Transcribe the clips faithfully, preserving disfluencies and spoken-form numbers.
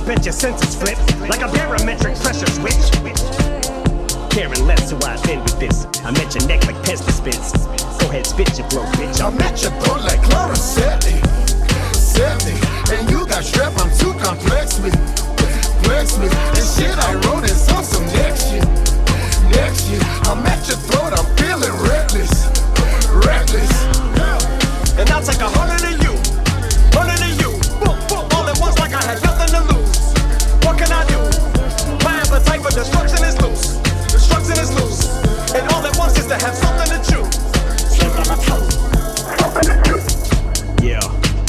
bet your senses flip like a barometric pressure switch. Caring less who I've been with this. I'm at your neck like Pez dispense. Go ahead, spit your flow, bitch. I'm at your throat like Chlorosetti. Seventy, and you got strep, I'm too complex with Flex me, and shit I wrote is on some next shit. Next shit, I'm at your throat, I'm feeling reckless. Reckless. And I'll take a hundred of you, hundred of you, boom, boom, all at once like I had nothing to lose. What can I do? My appetite for destruction is loose. Destruction is loose. And all at once is to have something to chew. Yeah,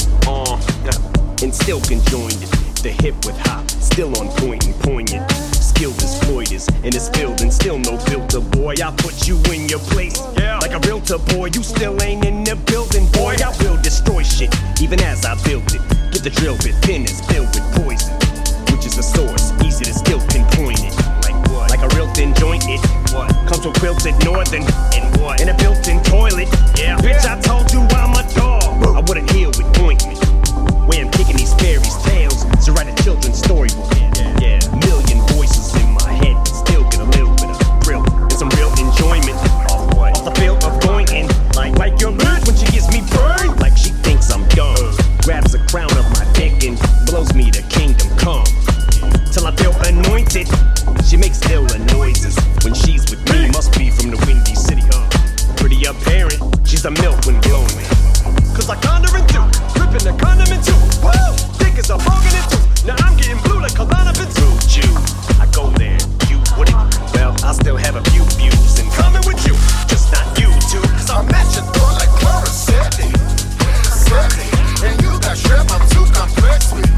uh, and still conjoined it. The hip with hop, still on point and poignant. Skilled as Floyd is, and it's filled and still no filter, boy. I put you in your place, yeah. Like a realtor, boy. You still ain't in the building, boy. I will destroy shit, even as I build it. Get the drill bit thin is filled with poison, which is a source, easy to still pinpoint it. Like what? Like a real thin joint, it what? Comes with quilted northern, and what? In a built-in toilet, yeah. Bitch, I told you I'm a dog. I wouldn't heal with ointment. Way I'm kicking these fairies' tales, so write a children's storybook. Yeah, yeah. Million voices in my head, but still get a little bit of thrill and some real enjoyment. Off what? Off the feel of going in, like like your bitch when she gives me burned, like she thinks I'm dumb. Grabs a crown of my dick and blows me to kingdom come. Till I feel anointed, she makes iller noises when she's with me. Must be from the Windy City, huh? Pretty apparent, she's a milk when blowing. Cause I conjure and do, ripping the condiment too. Woo! Dick is a bargain and two. Now I'm getting blue like Kalana Ventu. Jew, I go there, you wouldn't. Well, I still have a few views in common with you, just not you two. Cause I'm at your door like Chlorosetti. Seventy, and you got strep, I'm too complex with.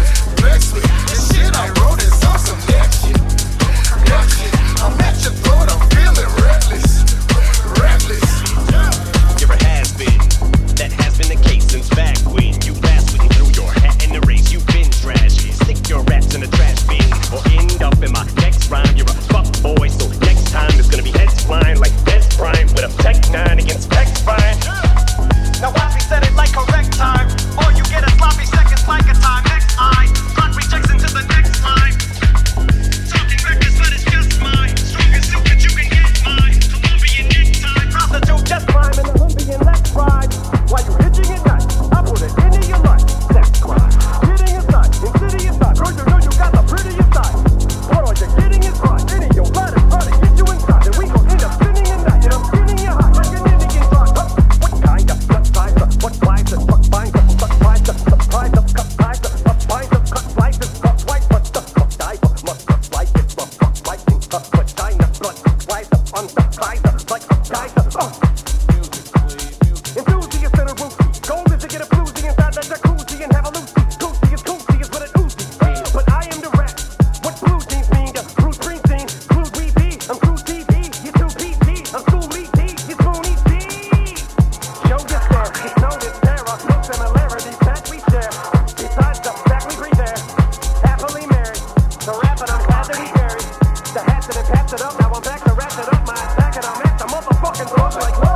Flex with, and shit I wrote is on some next shit. Next shit, I'm at your throat, I'm feeling reckless. Reckless. You're a has-been. That has been the case since back when you passed with me through your hat in the race. You've been trash. Stick your raps in the trash bin or end up in my next rhyme. You're a fuck boy, so next time it's gonna be heads flying like Death Prime with a Tech nine against Pex Fine. Now Wappy said it like correct time, or you get a sloppy seconds like a time. Next I drop rejects into the next line. Talking reckless, but it's just mine. Strongest suit that you can get mine. Colombian necktie, prostitute death crime in the Olympian left ride. While you hitching at night, I put it into your life. Sex crime, getting inside, insidious side. Girl, you know you got the prettiest side. What are you getting inside? Any your blood is trying to get you inside, and we gon' end up spinning at night, and I'm spinning you high like an Indian side. Huh? What kind of gut size? What slice? What binds up? What slice? Surprise up, cut slice up, up binds up, cut slices, cut twice, but the fuck dive up, must cut slice it, but fuck slicing, cut vagina, blood slice up, unsubscribe up, like a geyser. Uh. Enthusiast and a roofie. Goal is to get a floozy inside the jacuzzi and have a loosey. Goosey is goosey is what it oozes. But I am the rat. What blue jeans mean to Bruce Springsteen? Blue we be. I'm True T V. You too P T. I'm Schoolie T. You Spoonie T. Show your stare. Know this terror. No similarities that we share. Besides the fact we breathe there. Happily married. So rapping, I'm glad that we buried. The hatchet and patched it up. Now I'm back to ratchet up my back and I'm at the motherfucking throat like what?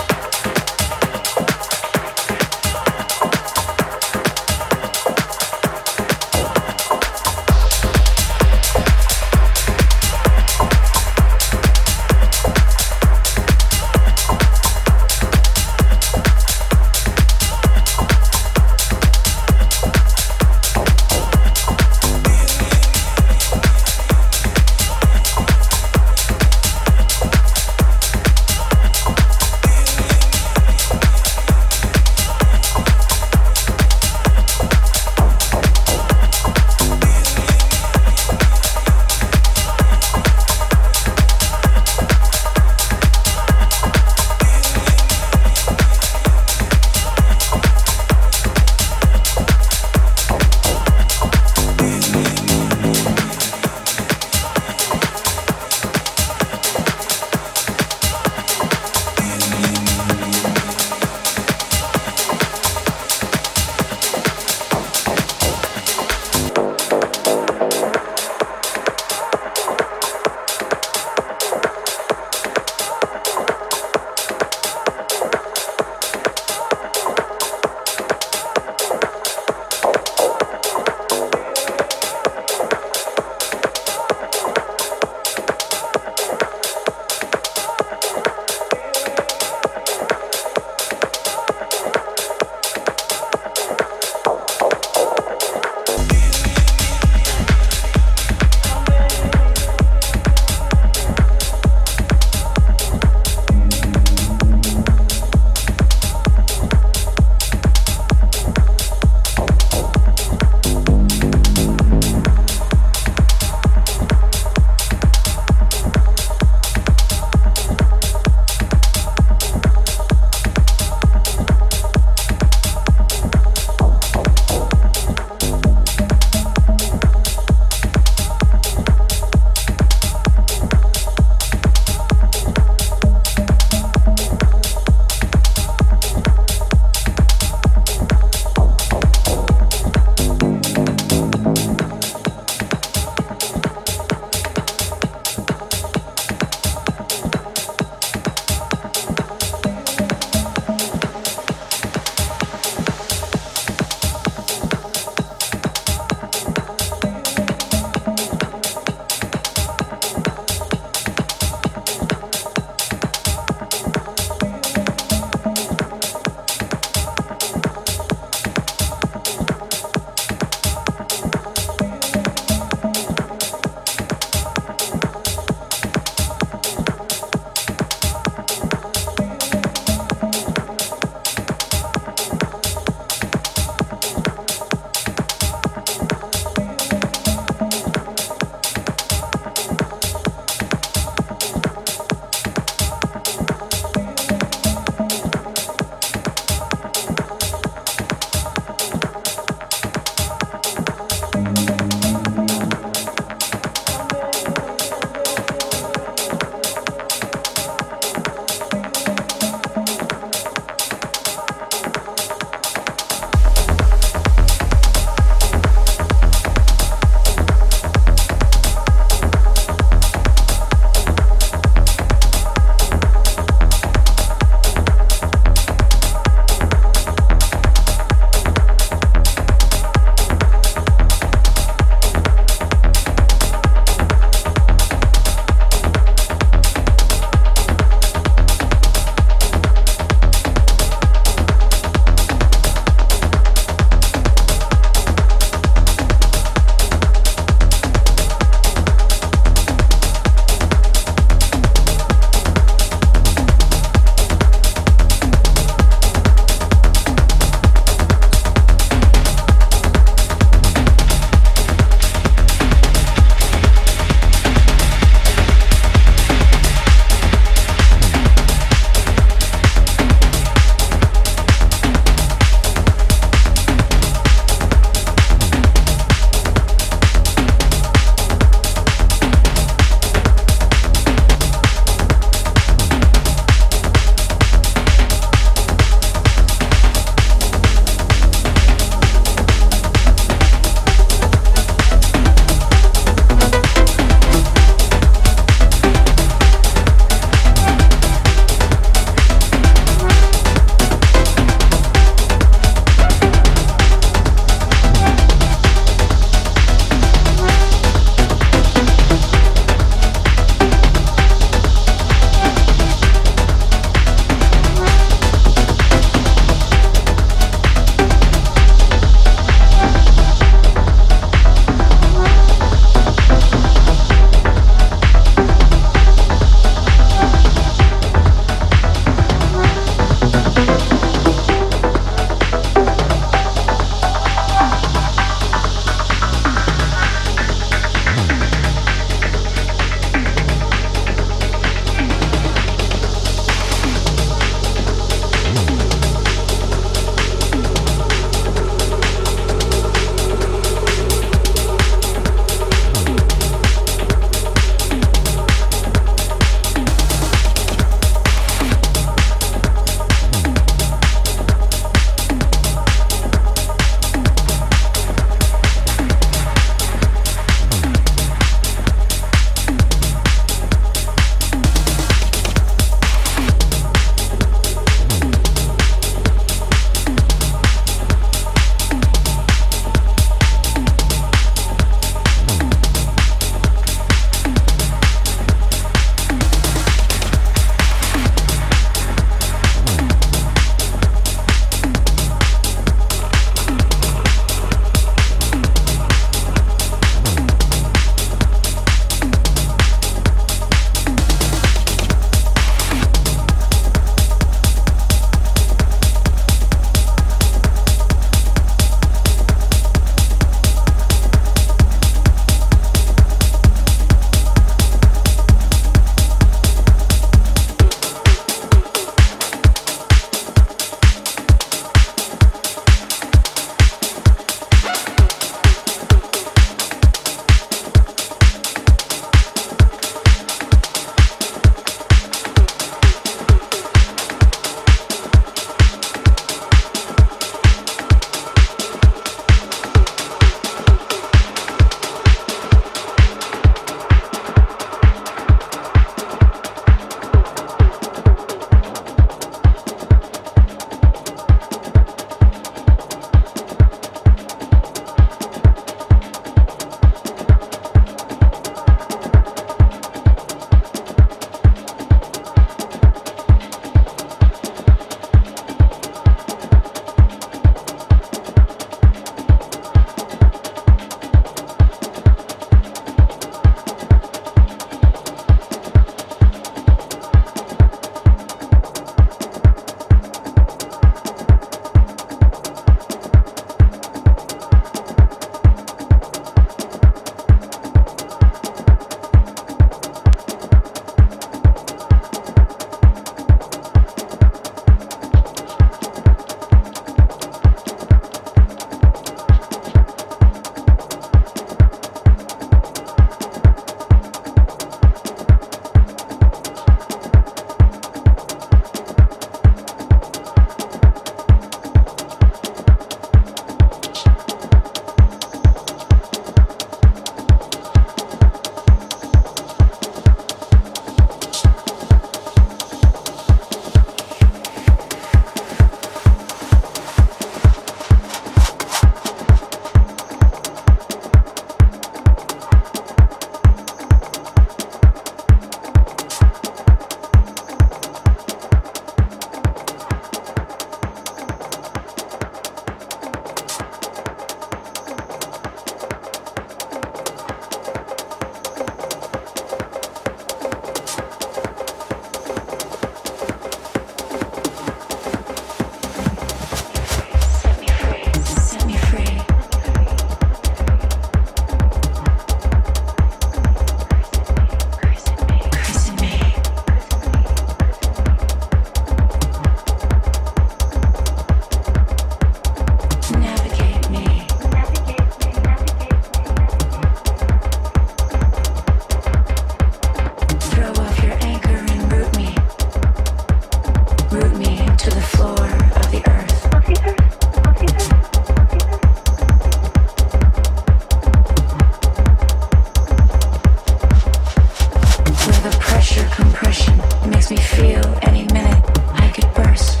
impression. It makes me feel any minute I could burst.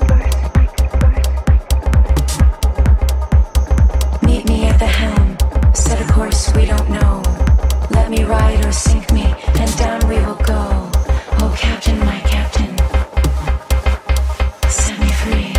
Meet me at the helm, set a course we don't know. Let me ride or sink me, and down we will go. Oh, Captain, my Captain, set me free.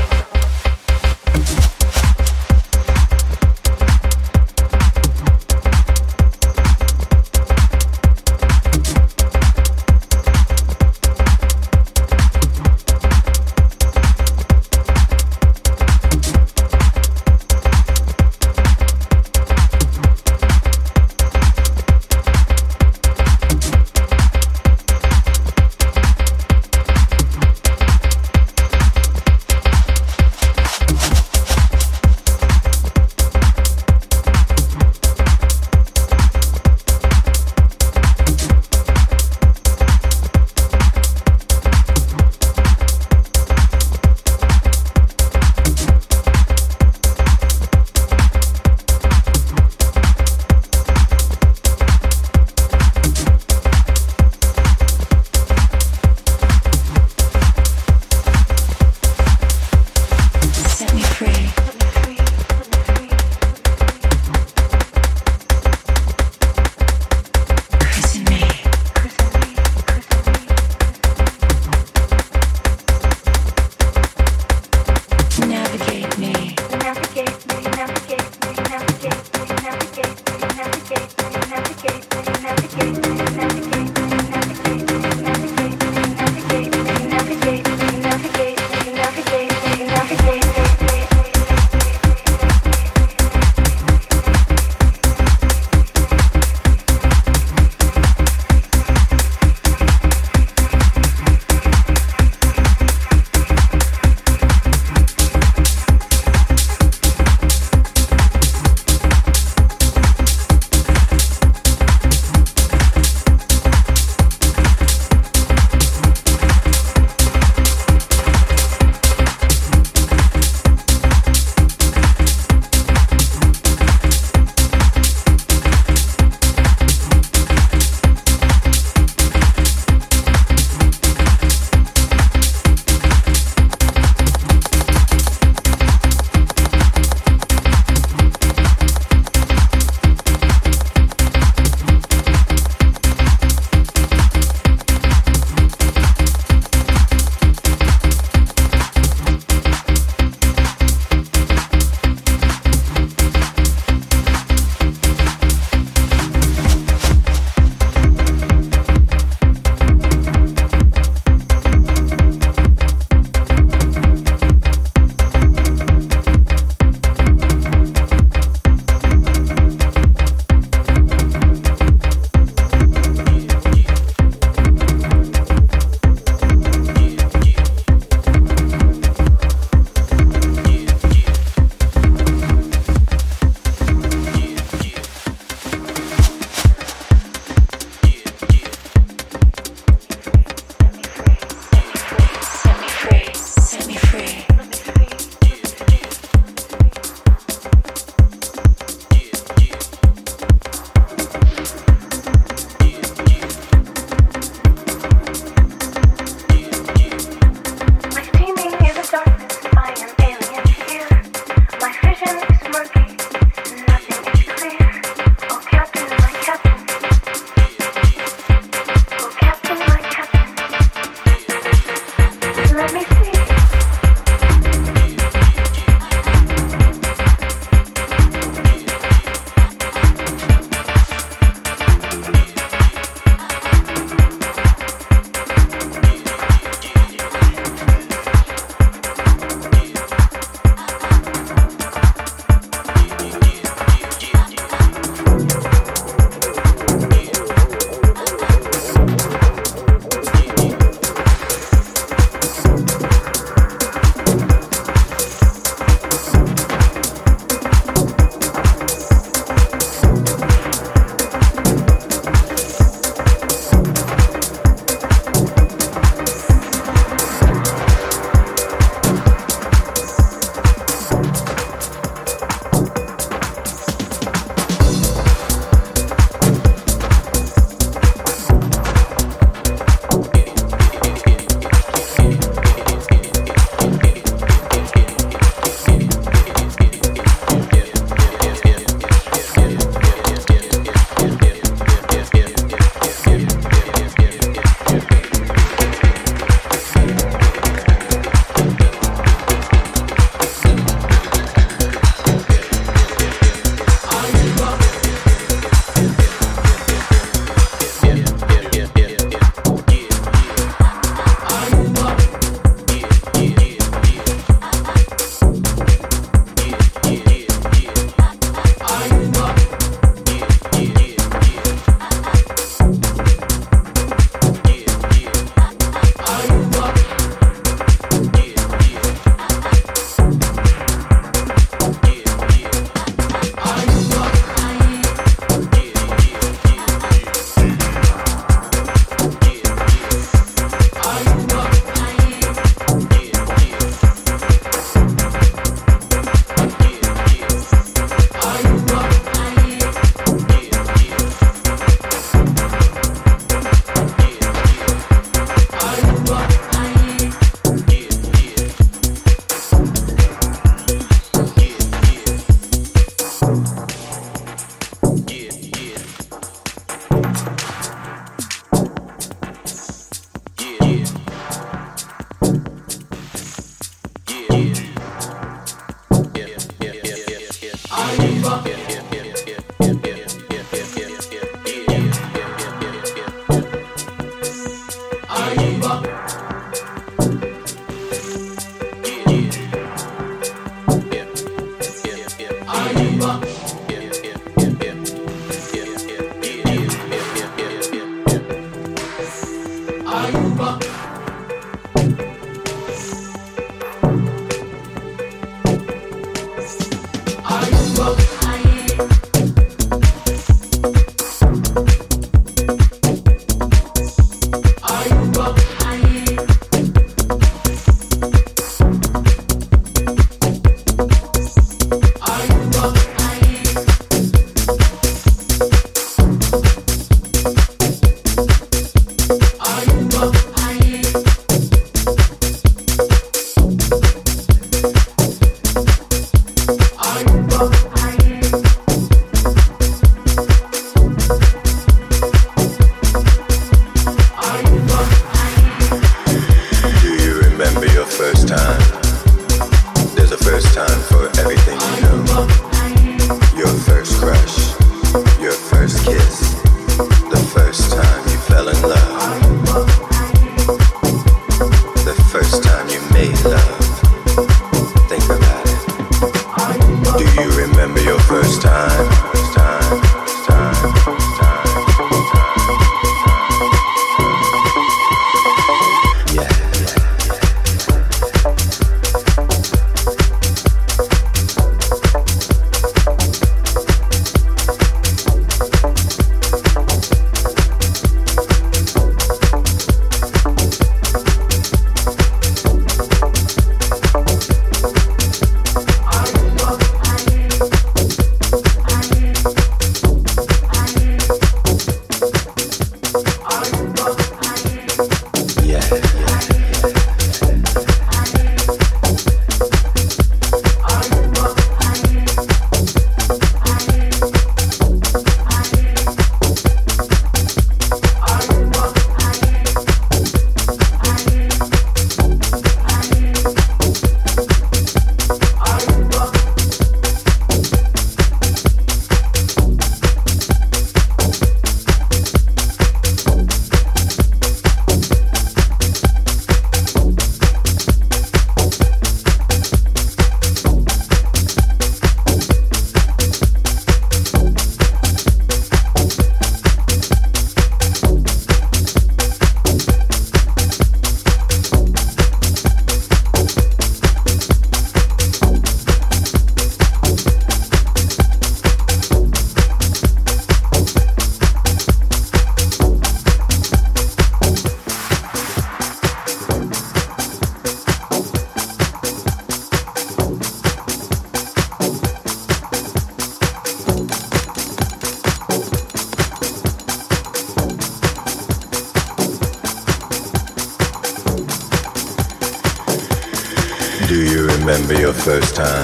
remember your first time.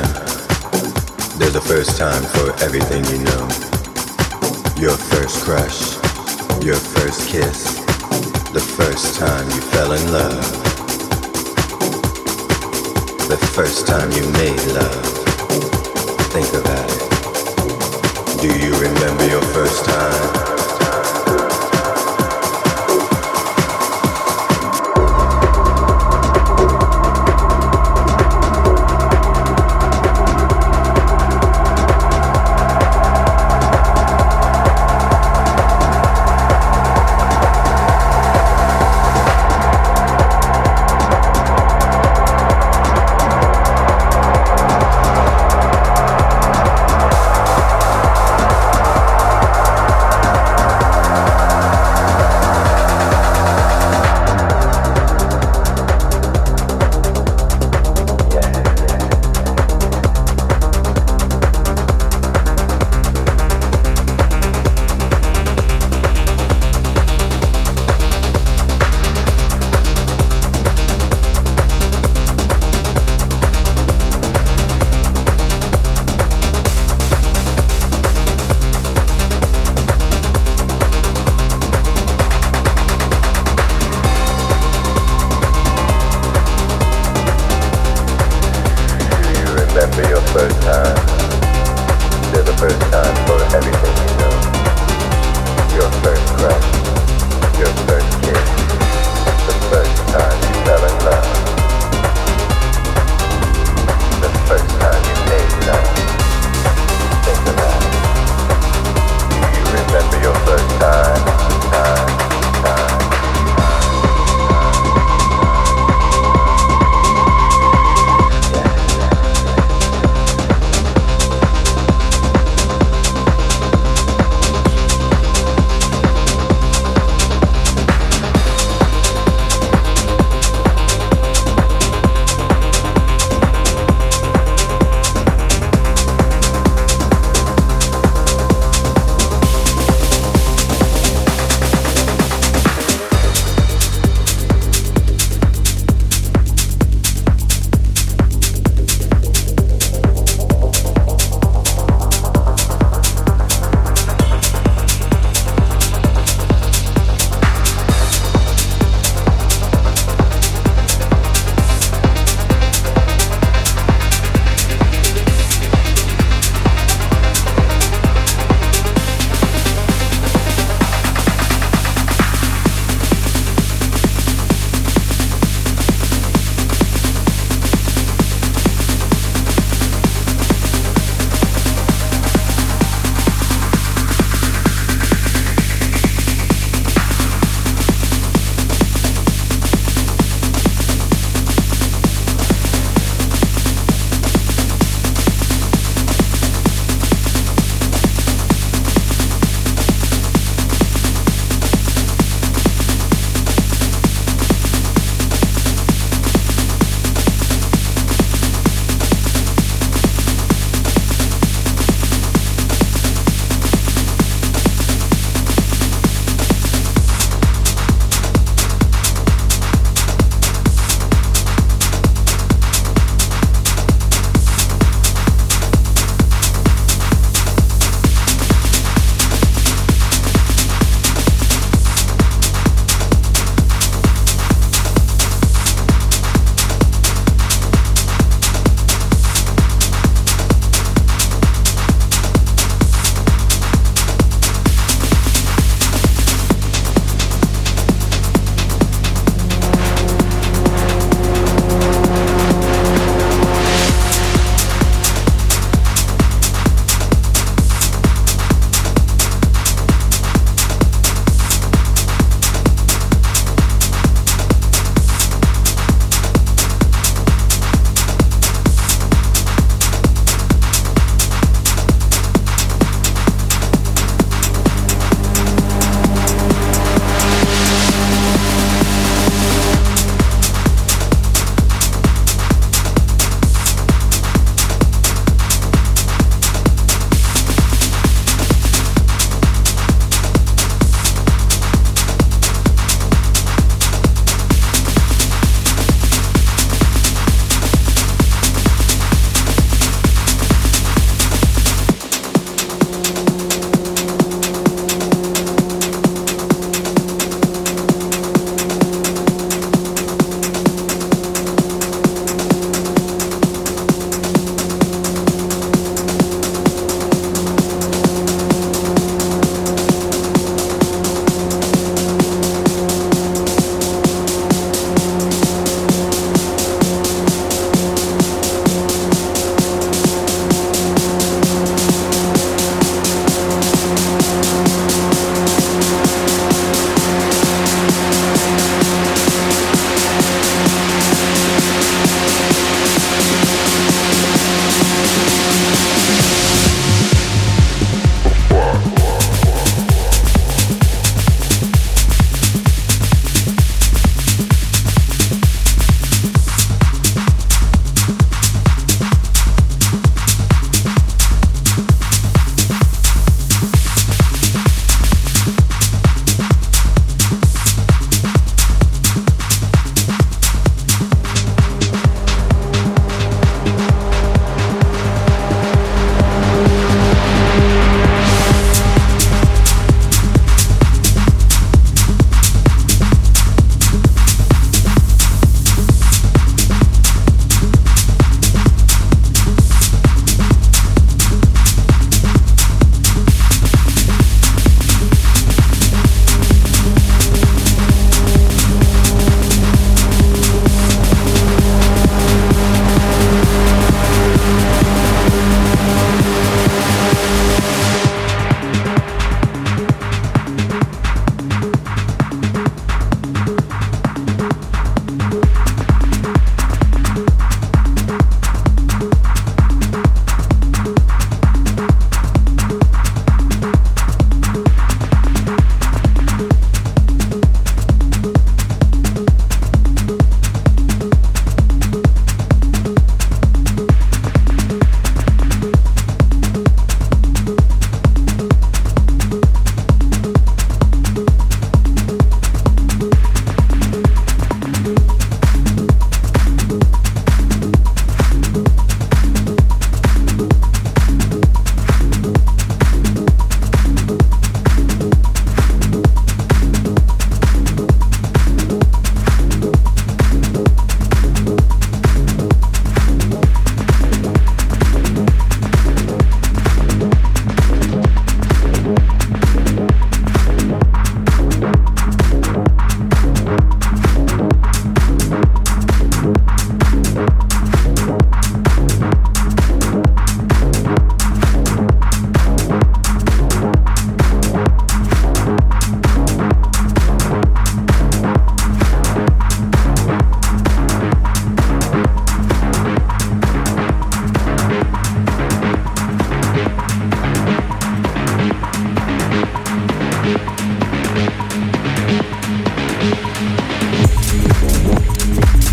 There's a first time for everything you know. Your first crush, your first kiss, the first time you fell in love, the first time you made love. Think about it. Do you remember your first time?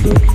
Thank